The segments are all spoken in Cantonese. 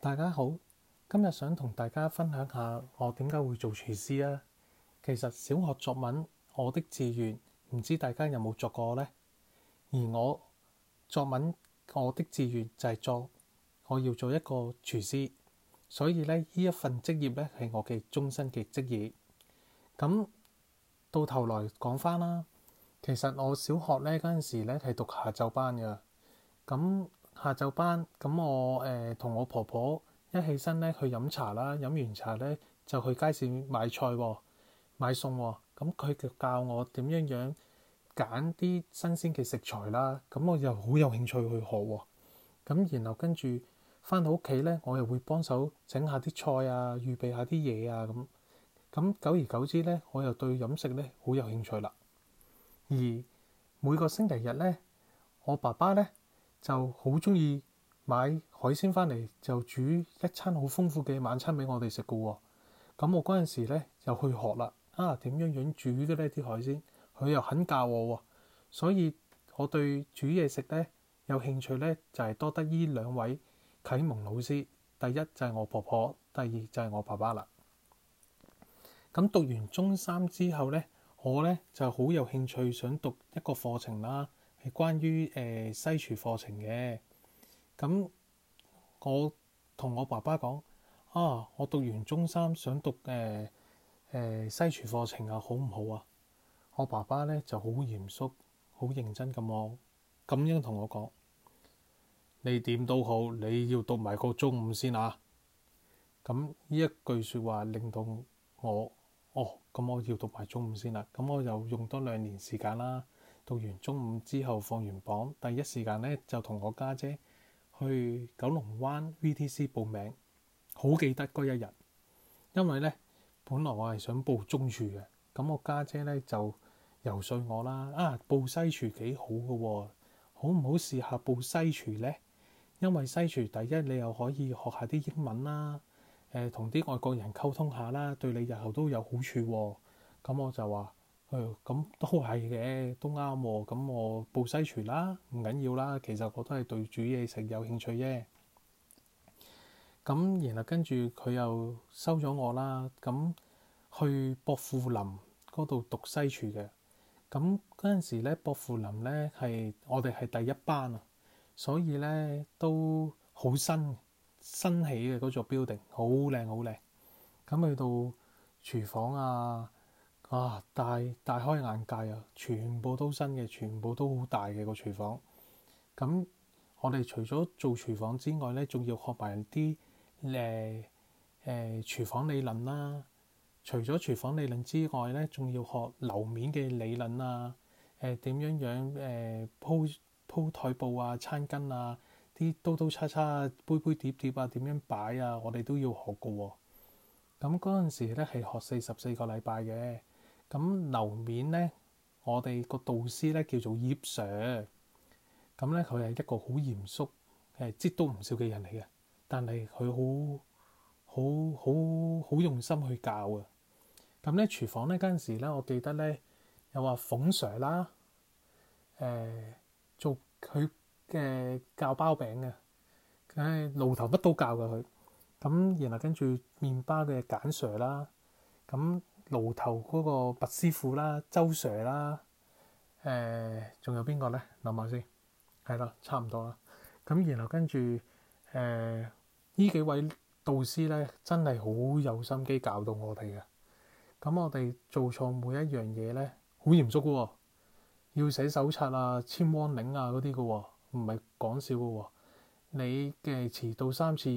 大家好，今日想同大家分享下我點解會做廚師啊。其實小學作文我的志願，唔知大家有冇作過呢？而我作文我的志願就係我要做一個廚師，所以呢一份職業呢係我嘅終身嘅職業。咁到頭來講返啦，其實我小學呢嗰陣時呢係讀下晝班㗎。咁下晝班，咁我同我婆婆一起身咧去飲茶啦，飲完茶咧就去街市買菜喎，買餸喎。咁佢就教我點樣揀啲新鮮嘅食材啦。咁我又好有興趣去學喎。咁然後跟住返到屋企咧，我又會幫手整下啲菜啊，預備下啲嘢啊咁。咁久而久之咧，我又對飲食咧好有興趣啦。而每個星期日咧，我爸爸咧就好中意買海鮮翻嚟，就煮一餐好豐富嘅晚餐俾我哋食嘅喎。咁我嗰陣時咧又去學啦，點樣煮嘅呢啲海鮮，佢又肯教我喎。所以我對煮嘢食咧有興趣咧，就係多得呢兩位啟蒙老師。第一就係我婆婆，第二就係我爸爸啦。咁讀完中三之後咧，我咧就好有興趣想讀一個課程啦，係關於西廚課程嘅。咁我同我爸爸講我讀完中三想讀西廚課程啊，好唔好啊？我爸爸咧就好嚴肅、好認真咁樣同我講：你點都好，你要讀埋個中五先啊！咁呢一句説話令到我咁我要讀埋中五先啦。咁我又用多2年時間啦。讀完中五之後放完榜，第一時間咧就同我家姐去九龍灣 VTC 報名。好記得嗰一日，因為咧本來我係想報中廚嘅，咁我家姐咧就游說我啦，報西廚幾好嘅喎，好唔好試下報西廚呢？因為西廚第一你又可以學下啲英文啦，同啲外國人溝通下啦，對你日後都有好處喎。咁我就話咁都係嘅，都啱喎。咁我報西廚啦，唔緊要啦。其實我都係對煮嘢食有興趣啫。咁然後跟住佢又收咗我啦。咁去薄扶林嗰度讀西廚嘅。咁嗰陣時咧，薄扶林咧我哋係第一班啊，所以咧都好新起嘅嗰座 building，好靚好靚。咁去到廚房大開眼界啊！全部都新嘅，全部都好大嘅個廚房。咁我哋除咗做廚房之外咧，仲要學埋啲廚房理論啦。除咗廚房理論之外咧，仲要學樓面嘅理論啊。點樣鋪台布啊、餐巾啊、啲刀叉叉、杯杯碟碟啊，點樣擺啊，我哋都要學嘅喎。咁嗰陣時咧係學44個禮拜嘅。咁樓面咧，我哋個導師咧叫做葉 Sir。咁咧佢係一個好嚴肅、擠都唔少嘅人嚟嘅，但係佢好用心去教啊。咁咧廚房咧嗰陣時咧，我記得咧又話馮 Sir 啦，做佢嘅教包餅嘅，爐頭乜都教嘅佢。咁然後跟住麵包嘅簡 Sir 啦，咁爐頭嗰個麥師傅啦，周 Sir 啦，仲有邊個咧？諗下先，係啦，差唔多啦。咁然後跟住呢幾位導師咧，真係好有心機教到我哋嘅。咁我哋做錯每一樣嘢咧，好嚴肅嘅喎，要寫手冊啊、簽 warning 啊嗰啲嘅喎，唔係講笑嘅喎。你嘅遲到3次，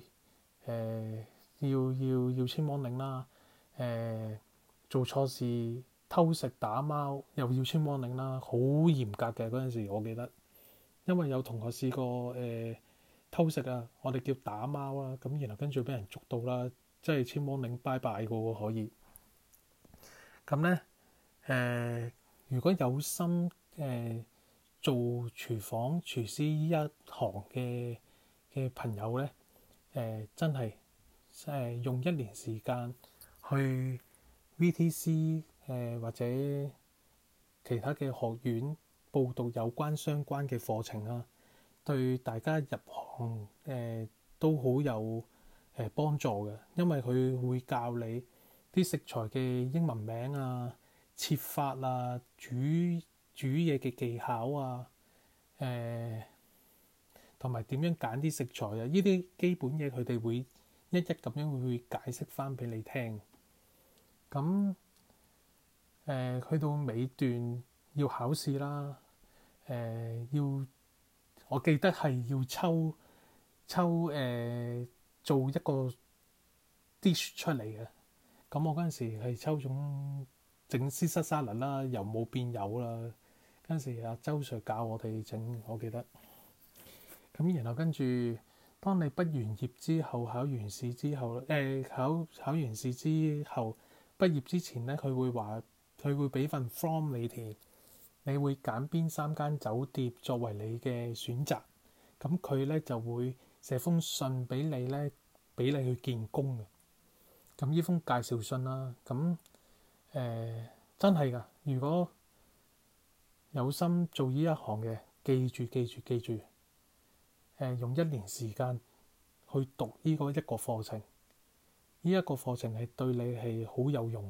要簽 warning 啦。做錯事、偷食、打貓又要簽 warning 啦，好嚴格嘅嗰陣時，我記得。因為有同學試過偷食啊，我哋叫打貓啦，咁然後跟住俾人捉到啦，即係簽 warning拜拜嘅喎可以。咁咧如果有心做廚房廚師一行嘅朋友咧，真係用1年時間去 VTC 或者其他嘅學院報讀有關相關嘅課程啊，對大家入行都好有幫助嘅，因為佢會教你啲食材嘅英文名啊、切法啊、煮嘢嘅技巧啊，同埋點樣揀啲食材啊，呢啲基本嘢佢哋會一一咁樣會解釋翻俾你聽。咁去到尾段要考試啦，我記得係要抽做一個 dish 出嚟嘅。咁我嗰陣時係抽中整絲濕沙律啦，由冇變有啦。嗰陣時阿周 Sir 教我哋整，我記得。咁然後跟住，當你畢完業之後，考完試之後，考完試之後，畢業之前咧，佢會俾份 form 你填，你會揀邊3間酒店作為你嘅選擇。咁佢咧就會寫封信俾你咧，俾你去見工嘅。咁呢封介紹信啦，咁真係㗎。如果有心做呢一行嘅，記住，用1年時間去讀呢個一個課程，呢一個課程係對你係好有用。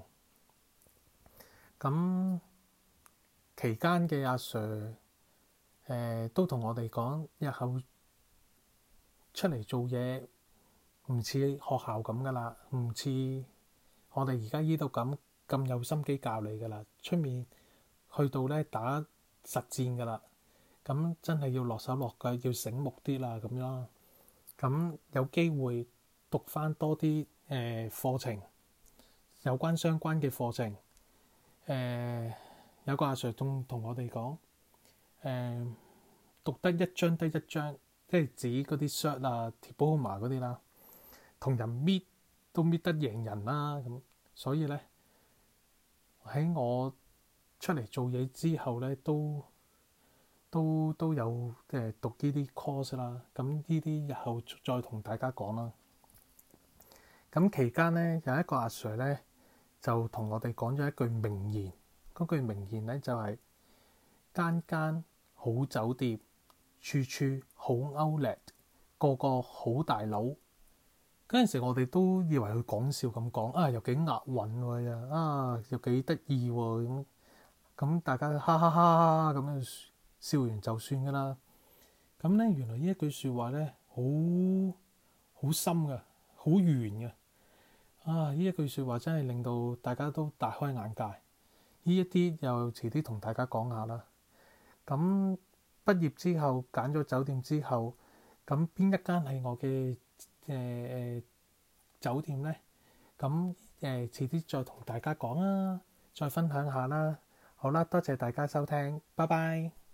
咁期間嘅阿 Sir 都同我哋講，日後出嚟做嘢唔似學校咁噶啦，唔似我哋而家呢度咁有心機教你噶啦，出面去到咧打實戰噶啦。咁真係要落手落腳，要醒目啲啦咁樣。咁有機會讀翻多啲課程，有關相關嘅課程。有個阿 Sir 仲同我哋講，讀得一張得一張，即係指嗰啲 cert 啊、diploma 嗰啲啦，同人搣都搣得贏人啦。咁所以咧喺我出嚟做嘢之後咧，都有讀呢啲 course 啦。咁呢啲日後再同大家講啦。咁期間咧有一個阿 Sir 咧就同我哋講咗一句名言。嗰句名言咧就係間好酒店，處處好 outlet，個個好大佬。嗰陣時我哋都以為佢講笑咁講啊，又幾押韻喎啊，又幾得意喎咁大家哈哈哈咁樣笑完就算噶啦。咁咧原來呢一句説話咧好深嘅，好圓嘅啊！呢一句説話真係令到大家都大開眼界。呢一啲又遲啲同大家講下啦。咁畢業之後揀咗酒店之後，咁邊一間係我嘅酒店呢？咁遲啲再同大家講啦，再分享下啦。好啦，多謝大家收聽，拜拜。